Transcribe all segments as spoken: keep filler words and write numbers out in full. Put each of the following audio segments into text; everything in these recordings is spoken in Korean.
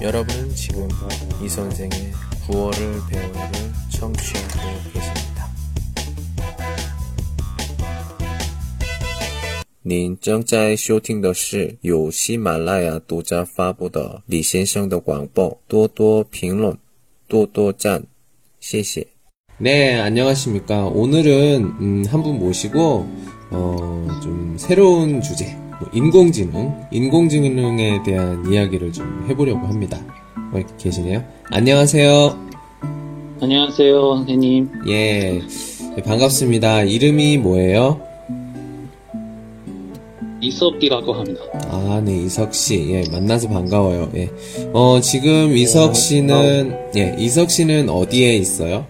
여러분은 지금 이 선생의 구월을 배우를 청취하고 계십니다. 您正在收听的是由喜马拉雅独家发布的李先生的广播，多多评论，多多赞，谢谢。 네, 안녕하십니까. 오늘은 음, 한 분 모시고 어, 좀 새로운 주제, 뭐 인공지능, 인공지능에 대한 이야기를 좀 해보려고 합니다. 어, 계시네요. 안녕하세요. 안녕하세요, 선생님. 예, 네, 반갑습니다. 이름이 뭐예요? 이석이라고 합니다. 아, 네, 이석씨. 예, 만나서 반가워요. 예. 어, 지금 이석씨는, 예, 이석씨는 어디에 있어요?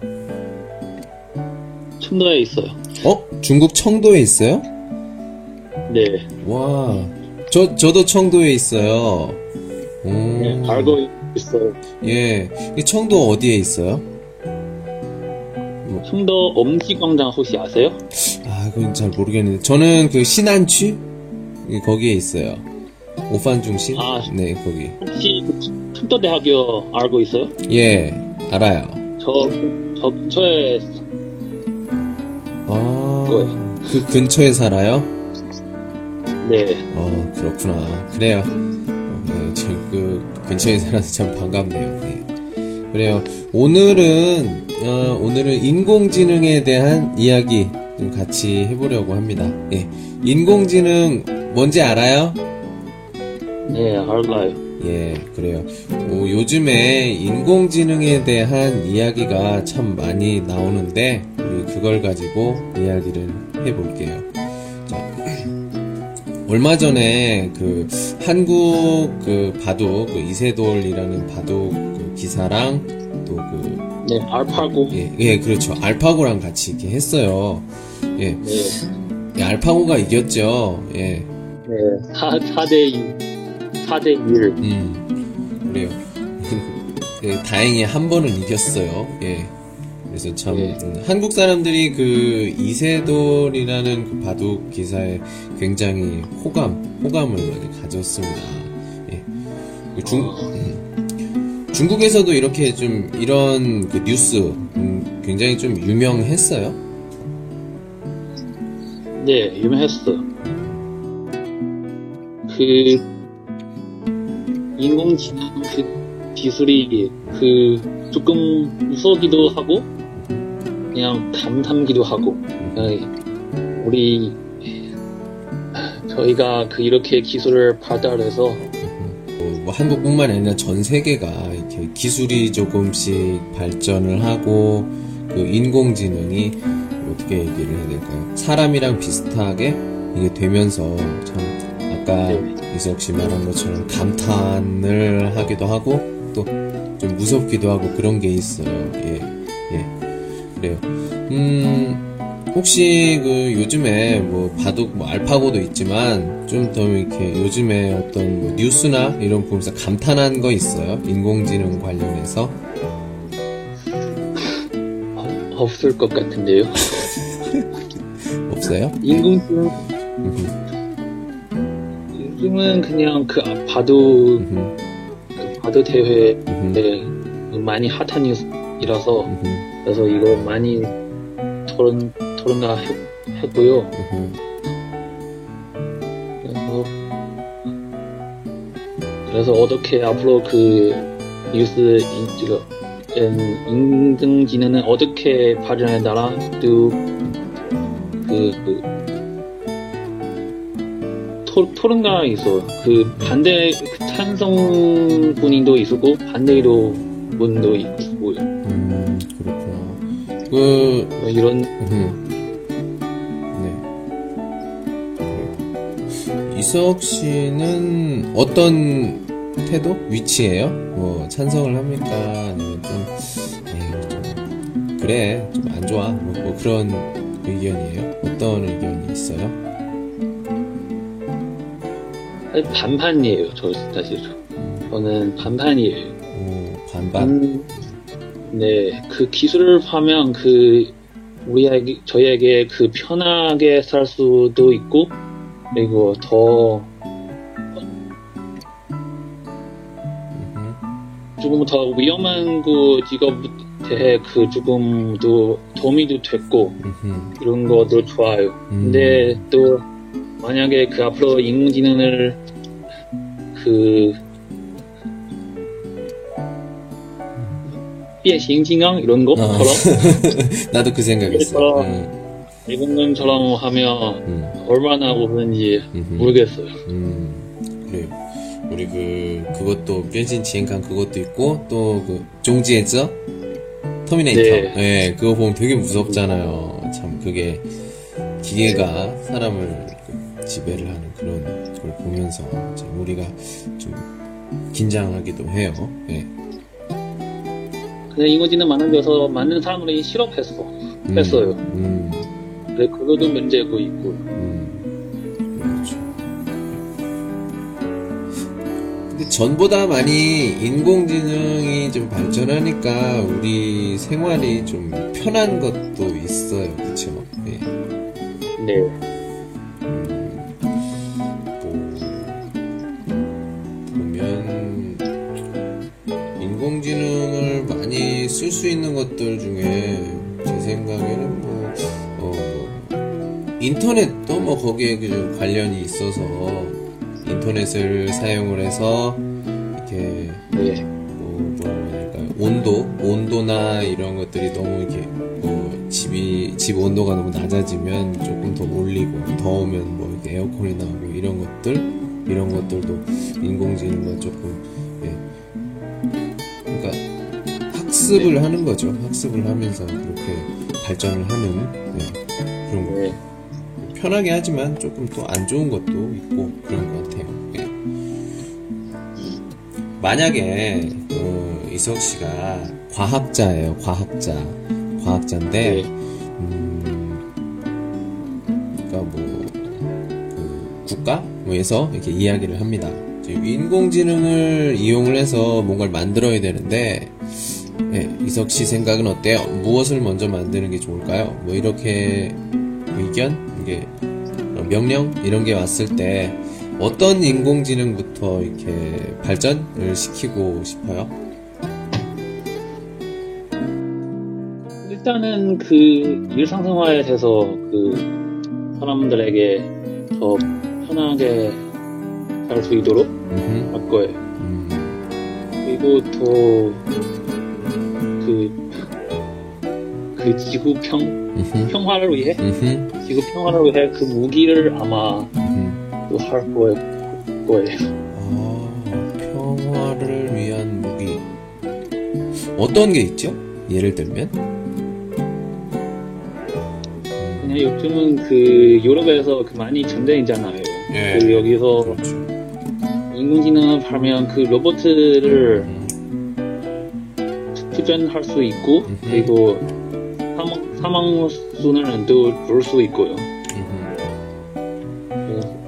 청도에 있어요. 어? 중국 청도에 있어요? 네. 와, 저, 저도 청도에 있어요. 오. 네, 알고 있어요. 예, 이 청도 어디에 있어요? 청도 엄지광장 혹시 아세요? 아, 그건 잘 모르겠는데. 저는 그 신안区? 거기에 있어요. 오판중심? 아, 네, 거기. 혹시 청도대학교 알고 있어요? 예, 알아요. 저, 저 근처에 아, 거예요. 그 근처에 살아요? 네. 어, 그렇구나. 그래요. 어, 네, 지금 그 근처에 살아서 참 반갑네요. 네. 그래요. 오늘은, 어, 오늘은 인공지능에 대한 이야기 좀 같이 해보려고 합니다. 예. 인공지능 뭔지 알아요? 네, 알아요. 예, 그래요. 뭐, 요즘에 인공지능에 대한 이야기가 참 많이 나오는데, 우리 그걸 가지고 이야기를 해볼게요. 자, 얼마 전에 그 한국 그 바둑, 그 이세돌이라는 바둑 그 기사랑 또 그, 네, 알파고. 예, 예, 그렇죠. 알파고랑 같이 이렇게 했어요. 예. 네. 예, 알파고가 이겼죠. 예. 네, 사, 사대 이, 사대 일. 음, 그래요. 예, 다행히 한 번은 이겼어요. 예. 그래서 참, 네. 음, 한국 사람들이 그 이세돌이라는 그 바둑 기사에 굉장히 호감, 호감을 많이 가졌습니다. 예. 그 중, 음, 중국에서도 이렇게 좀 이런 그 뉴스, 음, 굉장히 좀 유명했어요. 네, 유명했어요. 그, 인공지능 그 기술이 그 조금 무서기도 하고 그냥 감탄기도 하고 우리 저희가 그 이렇게 기술을 발달해서 뭐, 뭐 한국뿐만 아니라 전 세계가 이렇게 기술이 조금씩 발전을 하고 그 인공지능이 어떻게 얘기를 해야 될까요? 사람이랑 비슷하게 이게 되면서 참 아까 네. 이석 씨 말한 것처럼 감탄을 하기도 하고 또 좀 무섭기도 하고 그런 게 있어요. 예, 예, 그래요. 음, 혹시 그 요즘에 뭐 바둑 뭐 알파고도 있지만 좀 더 이렇게 요즘에 어떤 뭐 뉴스나 이런 거 보면서 감탄한 거 있어요? 인공지능 관련해서? 없을 것 같은데요. 없어요? 인공지능 요즘은 그냥 그 바둑 음흠. 그 바둑 대회 음흠. 네, 많이 핫한 뉴스이라서 음흠. 그래서 이거 많이 토론 토론가 했, 했고요. 음흠. 그래서 그래서 어떻게 앞으로 그 뉴스 인지가 인공지능은 어떻게 발전에 따라 또 그, 그 토, 토론가 있어. 그 반대 그 찬성 분도 있었고 반대로 분도 있고요. 음, 그렇구나. 그, 뭐 이런 음. 네. 이석 씨는 어떤 태도? 위치예요? 뭐 찬성을 합니까? 아니면 좀, 에이, 좀 그래, 좀 안 좋아. 뭐, 뭐 그런 의견이에요? 어떤 의견이 있어요? 반반이에요. 저 사실 저는 반반이에요. 오, 반반. 음, 네, 그 기술을 하면 그 우리에게 저희에게 그 편하게 살 수도 있고 그리고 더 조금 더 위험한 그 직업에 대해 그 조금 더 도움이 됐고 음흠. 이런 것도 좋아요. 음. 근데 또 만약에 그 앞으로 인공지능을 그变形金刚 이런 것처럼 어. 나도 그 생각했어. 그래서 음. 일본군처럼 하면 음. 얼마나 오는지 음흠. 모르겠어요. 음. 그래요. 우리 그 그것도 변신지행칸 그것도 있고 또 그 종지에서 터미네이터. 네. 네, 그거 보면 되게 무섭잖아요. 참 그게 기계가 사람을 지배를 하는 그런 걸 보면서 참 우리가 좀 긴장하기도 해요. 네. 근데 인공지능 만들어서 많은 사람들이 실업했어. 음, 했어요. 음, 근데 그것도 문제고 있고. 음, 그렇죠. 근데 전보다 많이 인공지능이 좀 발전하니까 우리 생활이 좀 편한 것도 있어요. 그쵸? 네. 네. 보면 인공지능을 많이 쓸 수 있는 것들 중에 제 생각에는 뭐, 어, 뭐 인터넷도 뭐 거기에 그 관련이 있어서 인터넷을 사용을 해서 이렇게 네. 뭐 뭐라고 해야 될까요? 온도 온도나 이런 것들이 너무 이렇게 뭐 집이 집 온도가 너무 낮아지면 조금 더 올리고 더우면 뭐 이렇게 에어컨이 나오고 이런 것들 이런 것들도 인공지능과 조금 예. 그러니까 학습을 네. 하는 거죠. 학습을 하면서 그렇게 발전을 하는 예. 그런 거. 네. 편하게 하지만 조금 또 안 좋은 것도 있고 그런 것 같아요. 예. 만약에 어, 이석 씨가 과학자예요. 과학자, 과학자인데, 네. 음, 그러니까 뭐 그 국가에서 이렇게 이야기를 합니다. 인공지능을 이용을 해서 뭔가를 만들어야 되는데, 예, 이석 씨 생각은 어때요? 무엇을 먼저 만드는 게 좋을까요? 뭐 이렇게 의견, 이게 명령 이런 게 왔을 때 어떤 인공지능부터 이렇게 발전을 시키고 싶어요? 일단은 그 일상생활에서 그 사람들에게 더 편하게 살 수 있도록 음흠. 할 거예요. 음, 그리고 또 그, 그 지구 평, 음흠. 평화를 위해, 음흠. 지구 평화를 위해 그 무기를 아마 음흠. 또 할 거예요. 거예요. 아, 평화를 위한 무기 어떤 게 있죠? 예를 들면? 그냥 요즘은 그 유럽에서 그 많이 전쟁이잖아요. 예. 그 여기서 그렇죠. 인공지능을 하면 그 로봇을 음, 투전할 수 있고 음흠. 그리고 사망 사망 수는 또 줄 수 있고요. 음흠. 그래서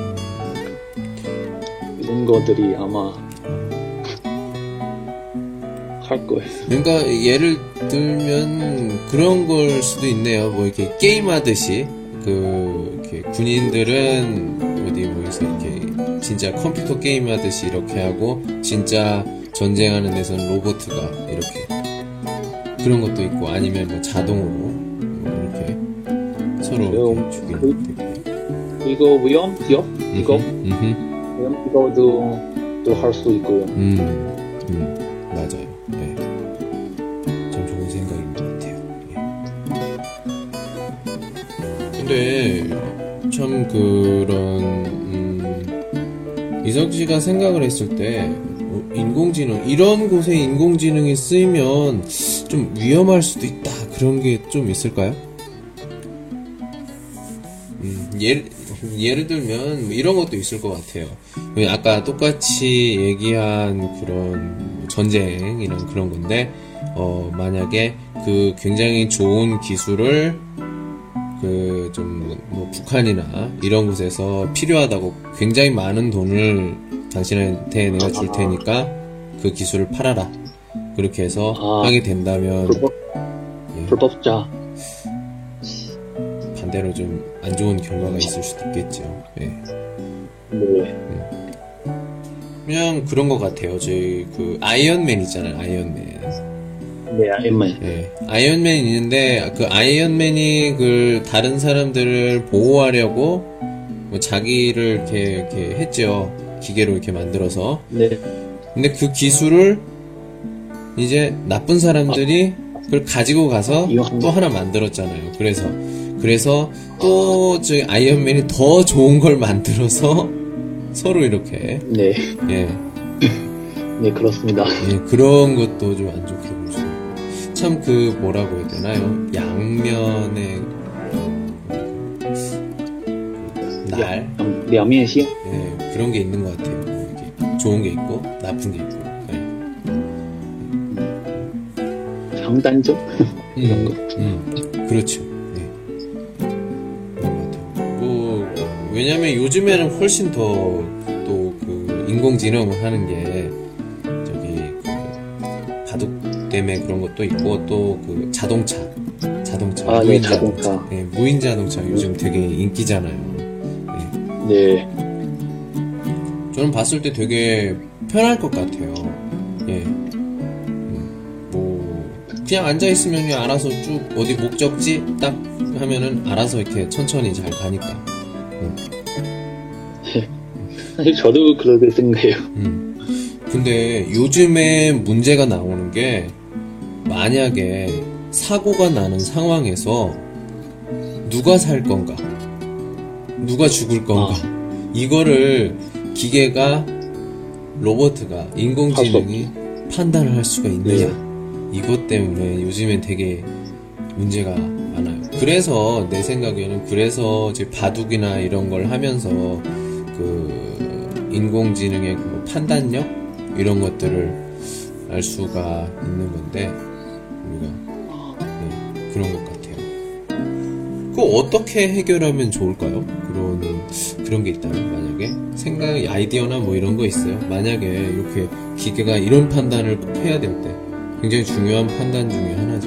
이런 것들이 아마 할 거예요. 그러니까 예를 들면 그런 걸 수도 있네요. 뭐 이렇게 게임하듯이 그 이렇게 군인들은 어디 뭐에서 이렇게 진짜 컴퓨터 게임하듯이 이렇게 하고 진짜 전쟁하는 데서는 로봇가 이렇게 그런 것도 있고 아니면 뭐 자동으로 뭐 이렇게 서로 이렇게 죽이는 것도 있고. 그리고 위험 기업 이거 음흠. 위험 이거도 또 할 수 있고요. 음, 음, 맞아요. 네. 참 좋은 생각인 것 같아요. 예. 근데 참 그런 음, 이석 씨가 생각을 했을 때 어, 인공지능 이런 곳에 인공지능이 쓰이면 좀 위험할 수도 있다 그런 게 좀 있을까요? 음, 예를 예를 들면 뭐 이런 것도 있을 것 같아요. 아까 똑같이 얘기한 그런 전쟁 이런 그런 건데 어 만약에 그 굉장히 좋은 기술을 그 좀 뭐 북한이나 이런 곳에서 필요하다고 굉장히 많은 돈을 당신한테 내가 줄 테니까 그 기술을 팔아라 그렇게 해서 아, 하게 된다면 불법 예, 불법자. 반대로 좀 안 좋은 결과가 있을 수도 있겠죠. 예. 네. 그냥 그런 것 같아요. 저희 그 아이언맨 있잖아요. 아이언맨. 네, 아이언맨. 네, 아이언맨이 있는데 그 아이언맨이 그 다른 사람들을 보호하려고 뭐 자기를 이렇게 이렇게 했죠. 기계로 이렇게 만들어서. 네. 근데 그 기술을 이제 나쁜 사람들이 그걸 가지고 가서 또 하나 만들었잖아요. 그래서 그래서 또 저희 아이언맨이 더 좋은 걸 만들어서 서로 이렇게 네. 예. 네, 그렇습니다. 예, 그런 것도 좀 안 좋게 볼 수 있고. 참 그 뭐라고 해야 되나요? 양면의 날? 양면식? 예, 그런 게 있는 것 같아요. 이렇게 좋은 게 있고 나쁜 게 있고. 예. 장단점? 이런 거. 음, 그렇죠. 예. 그런 것 같아요. 뭐 왜냐면 요즘에는 훨씬 더 또 그 인공지능을 하는 게 저기 그 바둑 때문에 그런 것도 있고 또 그 자동차, 자동차, 아, 무인 네, 자동차. 예, 무인 자동차 요즘 되게 인기잖아요. 예. 네. 저는 봤을 때 되게 편할 것 같아요. 예. 음, 뭐 그냥 앉아 있으면 그냥 알아서 쭉 어디 목적지 딱 하면은 알아서 이렇게 천천히 잘 가니까. 음. 사실 저도 그렇게 생각해요. 음. 근데 요즘에 문제가 나오는 게 만약에 사고가 나는 상황에서 누가 살 건가? 누가 죽을 건가? 아. 이거를 기계가 로봇가 인공지능이 판단을 할 수가 있느냐? 네. 이것 때문에 요즘엔 되게 문제가 많아요. 그래서 내 생각에는 그래서 이제 바둑이나 이런 걸 하면서 그 인공지능의 그 판단력 이런 것들을 알 수가 있는 건데 우리가 네, 그런 것 같아요. 그거 어떻게 해결하면 좋을까요? 그런 그런 게 있다면 만약에 생각 아이디어나 뭐 이런 거 있어요. 만약에 이렇게 기계가 이런 판단을 꼭 해야 될 때 굉장히 중요한 판단 중에 하나죠.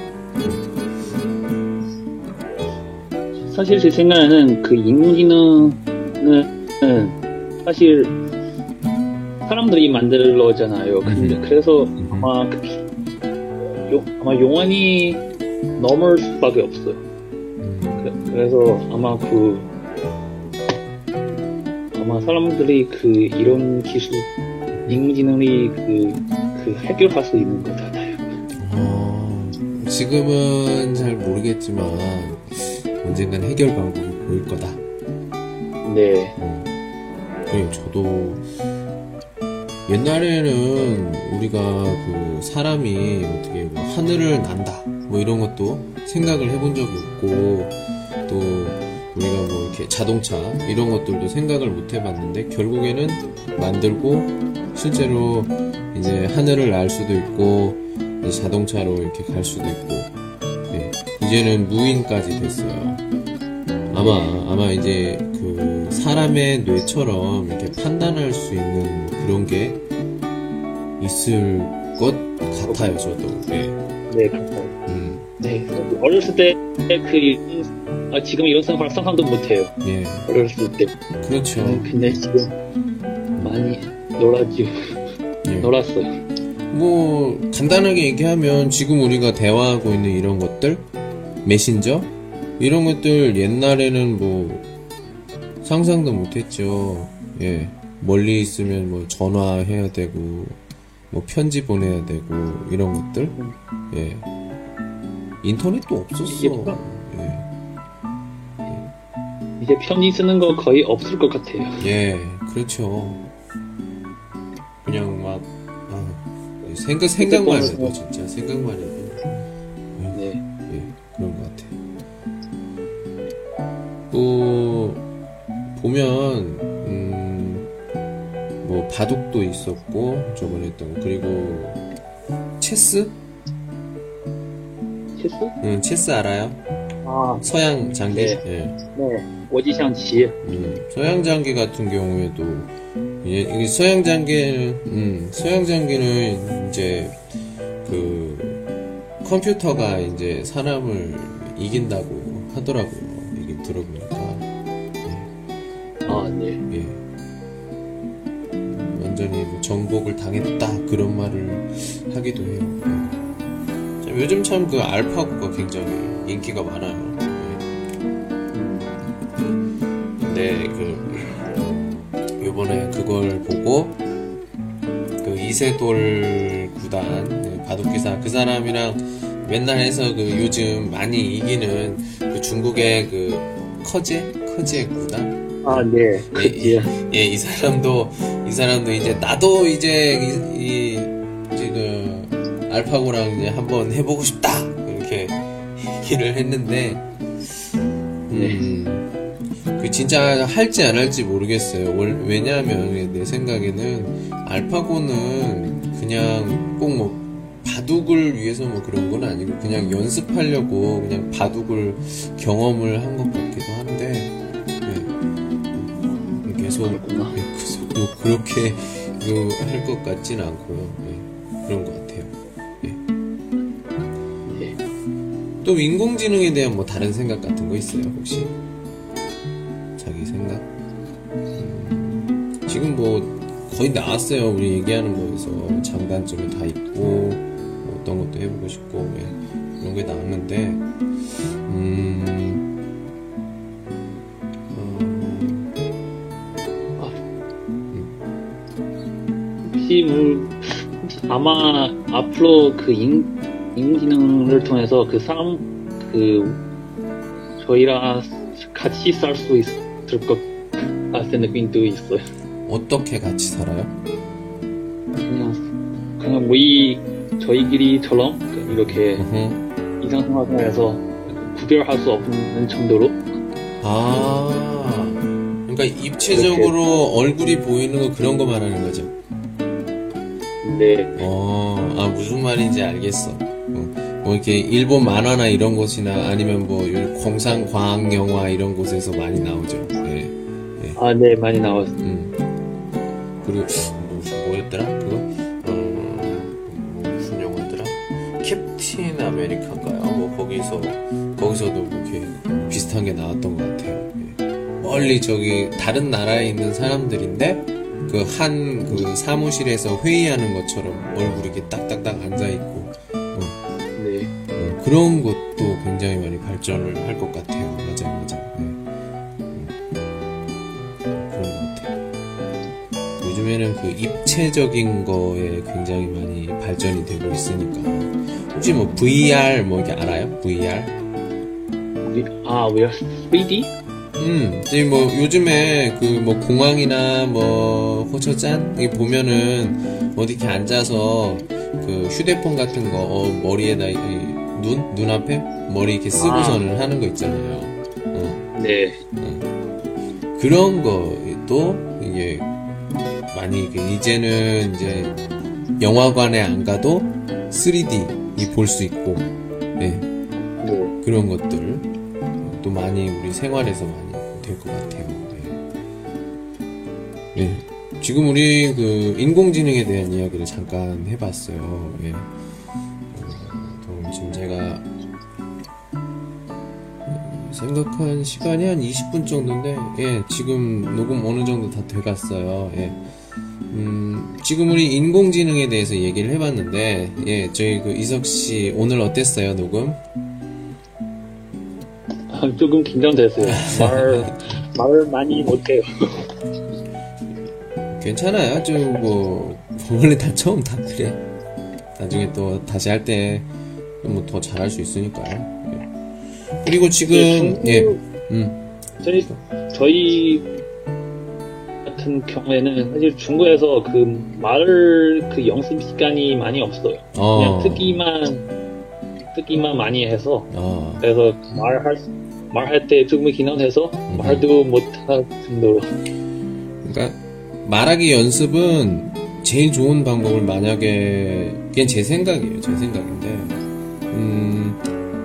사실 제 생각에는 그 인공지능은 사실 사람들이 만들어잖아요. 근데 그래서 아마 그, 요, 아마 용언이 넘을 수밖에 없어요. 그, 그래서 아마 그 아마 사람들이 그 이런 기술 인공지능이 그, 그 해결할 수 있는 것 같아요. 어, 지금은 잘 모르겠지만 언젠간 해결 방법이 보일 거다. 네. 어. 그래요. 저도 옛날에는 우리가 그 사람이 어떻게 뭐 하늘을 난다 뭐 이런 것도 생각을 해본 적이 없고 또 우리가 뭐 이렇게 자동차 이런 것들도 생각을 못 해봤는데 결국에는 만들고 실제로 이제 하늘을 날 수도 있고 이제 자동차로 이렇게 갈 수도 있고 네. 이제는 무인까지 됐어요. 아마 아마 이제 그 사람의 뇌처럼 이렇게 판단할 수 있는 그런 게 있을 것 같아요. 저도. 네. 네, 그렇죠. 음. 네. 어렸을 때 그 아, 지금 이런 생각 상상도 못해요. 예. 어렸을 때. 그렇죠. 근데 지금 많이 놀았죠. 예. 놀았어요. 뭐 간단하게 얘기하면 지금 우리가 대화하고 있는 이런 것들, 메신저 이런 것들 옛날에는 뭐 상상도 못했죠. 예. 멀리 있으면 뭐 전화해야 되고 뭐 편지 보내야 되고 이런 것들. 예. 인터넷도 없었어. 예. 이제 편지 쓰는 거 거의 없을 것 같아요. 예, 그렇죠. 그냥 막 아, 생각 생각만 해도 진짜 생각만 해도 네, 예, 그런 것 같아요. 또 보면 음, 뭐 바둑도 있었고 저번에 했던 거 그리고 체스? 체스? 응, 체스 알아요? 아, 서양 장기. 네. 예. 네. 오지샹치. 음, 서양 장기 같은 경우에도 이 서양 장기는 음, 서양 장기는 이제 그 컴퓨터가 이제 사람을 이긴다고 하더라고요. 이게 들어보니까. 예. 아, 네. 예. 완전히 뭐 정복을 당했다 그런 말을 하기도 해요. 네. 참, 요즘 참 그 알파고가 굉장히 인기가 많아요. 네, 그 요번에 그걸 보고 그 이세돌 구단 네, 바둑기사 그 사람이랑 맨날 해서 그 요즘 많이 이기는 그 중국의 그 커제 커제 구단. 아, 네. 예, 예, 이 사람도, 이 사람도 이제, 나도 이제, 이, 이 이제 그, 알파고랑 이제 한번 해보고 싶다! 이렇게 얘기를 했는데, 음, 그 진짜 할지 안 할지 모르겠어요. 왜냐하면 내 생각에는, 알파고는 그냥 꼭 뭐, 바둑을 위해서 뭐 그런 건 아니고, 그냥 연습하려고 그냥 바둑을 경험을 한 것 같기도 한데, 계속, 계속 뭐 그렇게 할 것 같진 않고요. 네, 그런 것 같아요. 네. 네. 또 인공지능에 대한 뭐 다른 생각 같은 거 있어요? 혹시 자기 생각? 음, 지금 뭐 거의 나왔어요. 우리 얘기하는 거에서 장단점이 다 있고 뭐 어떤 것도 해보고 싶고 네, 그런 게 나왔는데 음. 아마 앞으로 그 인, 인공지능을 통해서 그 사람 그 저희랑 같이 살 수 있을 것 같은 느낌도 있어요. 어떻게 같이 살아요? 그냥 그냥 우리 저희끼리처럼 이렇게 uh-huh. 일상생활에서 구별할 수 없는 정도로. 아, 그러니까 입체적으로 이렇게. 얼굴이 보이는 거 그런 거 말하는 거죠. 네. 어, 아, 무슨 말인지 알겠어. 어, 뭐, 이렇게, 일본 만화나 이런 곳이나 아니면 뭐, 공상 과학 영화 이런 곳에서 많이 나오죠. 네. 네. 아, 네, 많이 나왔어요. 음. 그리고, 무슨, 뭐였더라? 그거? 어, 뭐 무슨 영화더라? 캡틴 아메리카인가요? 뭐, 거기서, 거기서도 뭐 이렇게 비슷한 게 나왔던 것 같아요. 네. 멀리 저기, 다른 나라에 있는 사람들인데, 그 한 그 사무실에서 회의하는 것처럼 얼굴이 이렇게 딱딱딱 앉아있고 어. 네. 어, 그런 것도 굉장히 많이 발전을 할 것 같아요. 맞아요, 맞아요. 네. 음. 그런 것 같아요. 요즘에는 그 입체적인 거에 굉장히 많이 발전이 되고 있으니까 혹시 뭐 브이알 뭐 이렇게 알아요? 브이알? 아, 왜요? 쓰리디? 음, 이제 뭐 요즘에 그 뭐 공항이나 뭐 호처짠 이 보면은 어디 이렇게 앉아서 그 휴대폰 같은 거 어, 머리에다 이, 눈 눈앞에 머리 이렇게 쓰고서는 아. 하는 거 있잖아요. 어. 네. 어. 그런 것도 이게 많이 이제는 이제 영화관에 안 가도 쓰리디 볼 수 있고, 네. 네. 그런 것들. 또 많이 우리 생활에서 많이 될 것 같아요. 네. 네. 지금 우리 그 인공지능에 대한 이야기를 잠깐 해봤어요. 예. 어, 지금 제가 생각한 시간이 한 이십 분 정도인데, 예, 지금 녹음 어느 정도 다 돼갔어요. 예. 음, 지금 우리 인공지능에 대해서 얘기를 해봤는데, 예, 저희 그 이석 씨 오늘 어땠어요, 녹음? 조금 긴장됐어요. 말, 말을 많이 못해요. 괜찮아요. 좀, 뭐, 원래 다 처음 다 그래. 나중에 또 다시 할 때, 뭐 더 잘할 수 있으니까요. 그리고 지금, 중국, 예, 음. 저희, 저희 같은 경우에는 사실 중국에서 그 말을 그 연습 시간이 많이 없어요. 어. 그냥 듣기만, 듣기만 많이 해서. 어. 그래서 말할 수, 말할 때 조금 긴장해서 음. 말도 못할 정도로. 그러니까 말하기 연습은 제일 좋은 방법을 만약에 그게 제 생각이에요. 제 생각인데 음,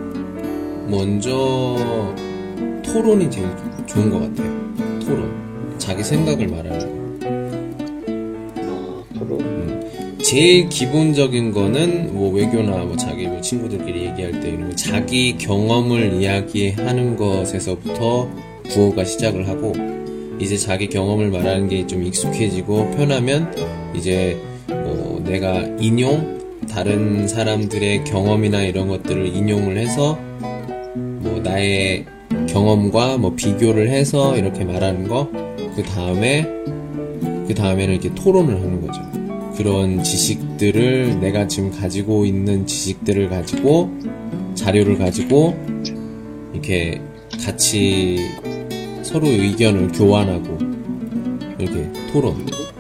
먼저 토론이 제일 좋은 것 같아요. 토론. 자기 생각을 말하는 거. 아, 토론. 음, 제일 기본적인 거는 뭐 외교나 뭐 자기 뭐 친구들끼리 얘기할 때 이런 거 자기 경험을 이야기하는 것에서부터 구호가 시작을 하고 이제 자기 경험을 말하는 게 좀 익숙해지고 편하면 이제 뭐 내가 인용 다른 사람들의 경험이나 이런 것들을 인용을 해서 뭐 나의 경험과 뭐 비교를 해서 이렇게 말하는 거, 그 다음에 그 다음에는 이렇게 토론을 하는 거죠. 그런 지식들을 내가 지금 가지고 있는 지식들을 가지고 자료를 가지고 이렇게 같이 서로 의견을 교환하고 이렇게 토론.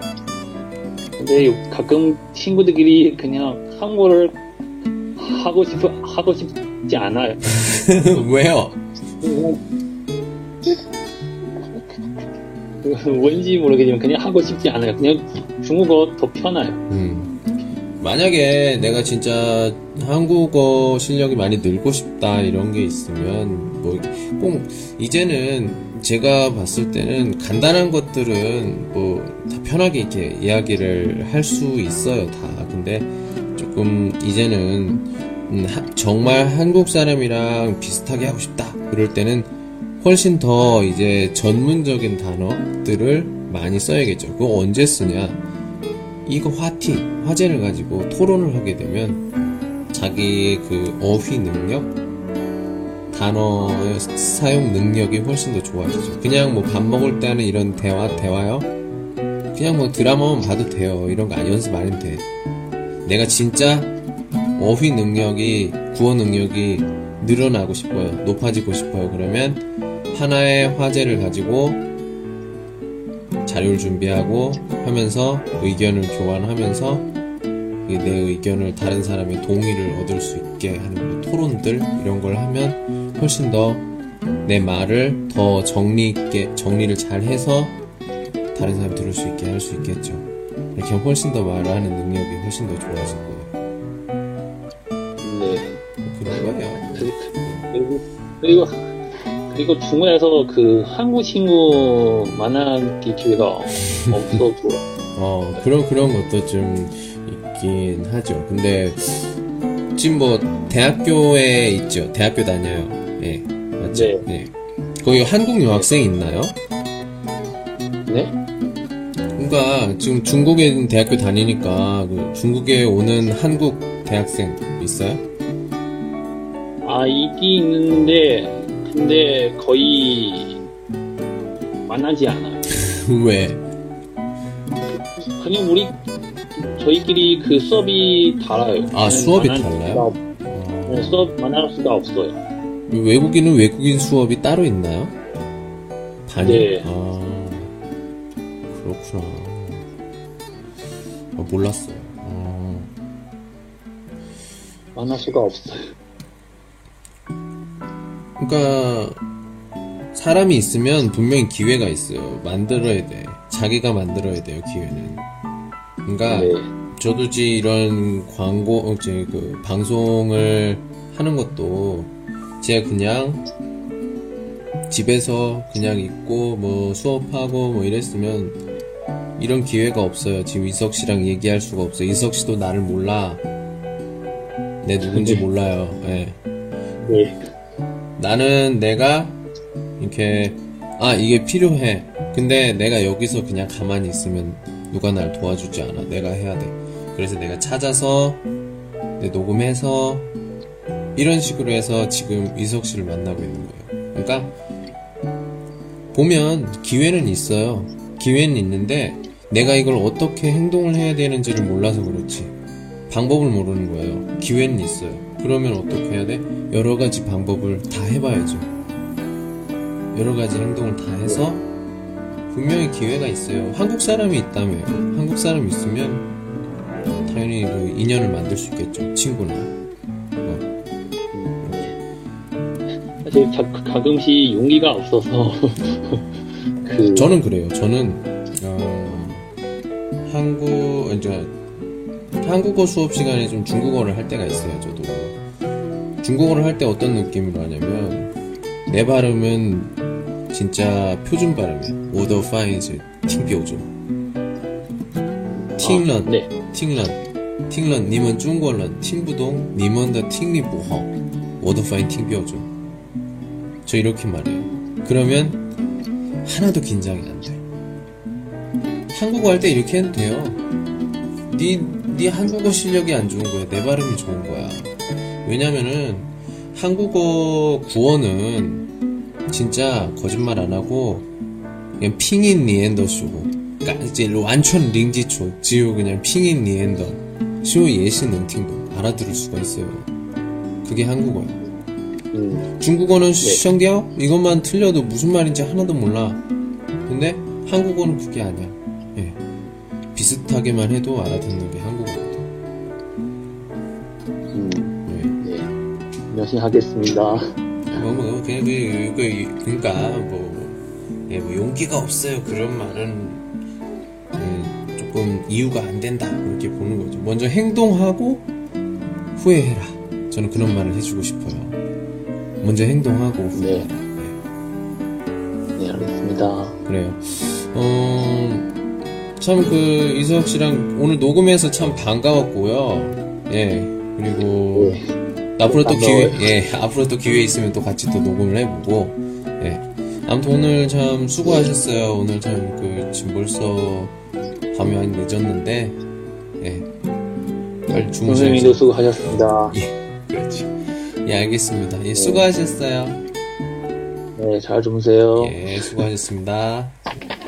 근데 가끔 친구들끼리 그냥 한국어를 하고 싶 하고 싶지 않아요. 왜요? 왠지 모르겠지만 그냥 하고 싶지 않아요. 그냥 중국어 더 편해요. 음. 만약에 내가 진짜 한국어 실력이 많이 늘고 싶다 이런 게 있으면 뭐 꼭 이제는 제가 봤을 때는 간단한 것들은 뭐 다 편하게 이렇게 이야기를 할 수 있어요 다. 근데 조금 이제는 음, 하, 정말 한국 사람이랑 비슷하게 하고 싶다 그럴 때는 훨씬 더 이제 전문적인 단어들을 많이 써야겠죠. 그거 언제 쓰냐? 이거 화티, 화제를 가지고 토론을 하게 되면 자기 그 어휘 능력, 단어의 사용 능력이 훨씬 더 좋아지죠. 그냥 뭐 밥 먹을 때 하는 이런 대화, 대화요? 그냥 뭐 드라마만 봐도 돼요. 이런 거 연습 안 해도 돼. 내가 진짜 어휘 능력이, 구어 능력이 늘어나고 싶어요. 높아지고 싶어요. 그러면 하나의 화제를 가지고 자료를 준비하고 하면서 의견을 교환하면서 내 의견을 다른 사람의 동의를 얻을 수 있게 하는 토론들 이런 걸 하면 훨씬 더 내 말을 더 정리 있게 정리를 잘 해서 다른 사람이 들을 수 있게 할 수 있겠죠. 이렇게 훨씬 더 말을 하는 능력이 훨씬 더 좋아질 거예요. 네. 그런 거예요. 그리고 그리고 그리고 중국에서 그 한국 친구 만나기 기회가 없어서 어 그런 그런 것도 좀 있긴 하죠. 근데 지금 뭐 대학교에 있죠. 대학교 다녀요. 예, 맞죠? 네. 네. 거기 한국 유학생 있나요? 네? 그러니까 지금 중국에 있는 대학교 다니니까 그 중국에 오는 한국 대학생 있어요? 아 있긴 있는데 근데 거의 만나지 않아요. 왜? 그냥 우리 저희끼리 그 수업이 달라요. 아 수업이 만날 달라요? 수가, 네, 수업 만날 수가 없어요. 외국인은 외국인 수업이 따로 있나요? 반이? 네. 아 그렇구나. 아, 몰랐어요. 아. 만날 수가 없어요. 그러니까 사람이 있으면 분명히 기회가 있어요. 만들어야 돼. 자기가 만들어야 돼요. 기회는. 그러니까 네. 저도 이제 이런 광고, 이제 그 방송을 하는 것도 제가 그냥 집에서 그냥 있고 뭐 수업하고 뭐 이랬으면 이런 기회가 없어요. 지금 이석 씨랑 얘기할 수가 없어요. 이석 씨도 나를 몰라. 내 누군지 네. 몰라요. 네. 네. 나는 내가 이렇게 아 이게 필요해. 근데 내가 여기서 그냥 가만히 있으면 누가 날 도와주지 않아. 내가 해야 돼. 그래서 내가 찾아서 내 녹음해서 이런 식으로 해서 지금 이석 씨를 만나고 있는 거예요. 그러니까 보면 기회는 있어요. 기회는 있는데 내가 이걸 어떻게 행동을 해야 되는지를 몰라서 그렇지. 방법을 모르는 거예요. 기회는 있어요. 그러면 어떻게 해야 돼? 여러 가지 방법을 다 해봐야죠. 여러 가지 행동을 다 해서 분명히 기회가 있어요. 한국 사람이 있다며요. 한국 사람이 있으면 당연히 그 인연을 만들 수 있겠죠. 친구나. 뭐. 사실 가, 가끔씩 용기가 없어서 그 저는 그래요. 저는 어, 한국 이제 한국어 수업 시간에 좀 중국어를 할 때가 있어요. 저도 중국어를 할 때 어떤 느낌으로 하냐면 내 발음은 진짜 표준 발음이에요. 我的发音是挺标准。听了， 네. 听了，听了，你们中国人听不懂，你们的听力不好，我的发音挺标准。저 이렇게 말해요. 그러면 하나도 긴장이 안 돼. 한국어 할 때 이렇게 해도 돼요. 네, 네 한국어 실력이 안 좋은 거야. 내 발음이 좋은 거야. 왜냐면은 한국어 구어는 진짜 거짓말 안 하고 그냥 핑인 니엔더 쓰고 이제 완전 링지초 지우 그냥 핑인 니엔더 쇼 예시 능팅도 알아들을 수가 있어요. 그게 한국어야. 음. 중국어는 시청디요 이것만 틀려도 무슨 말인지 하나도 몰라. 근데 한국어는 그게 아니야. 예. 비슷하게만 해도 알아듣는 게 한국어거든. 음. 네. 네. 열심히 하겠습니다. 뭐, 뭐, 그냥, 그, 그, 그니까, 뭐, 예, 뭐, 용기가 없어요. 그런 말은, 음, 조금 이유가 안 된다. 그렇게 보는 거죠. 먼저 행동하고, 후회해라. 저는 그런 말을 해주고 싶어요. 먼저 행동하고, 후회해라. 네. 네, 알겠습니다. 그래요. 어, 참, 그, 이서혁 씨랑 오늘 녹음해서 참 반가웠고요. 예, 그리고, 네. 앞으로 또 기회, 예, 앞으로 또 기회 있으면 또 같이 또 녹음을 해보고, 예. 아무튼 오늘 참 수고하셨어요. 오늘 참, 그, 지금 벌써 밤이 많이 늦었는데, 예. 빨리 주무셔야죠. 선생님도 수고하셨습니다. 예, 그렇지. 예, 알겠습니다. 예, 수고하셨어요. 네, 잘 주무세요. 예, 수고하셨습니다.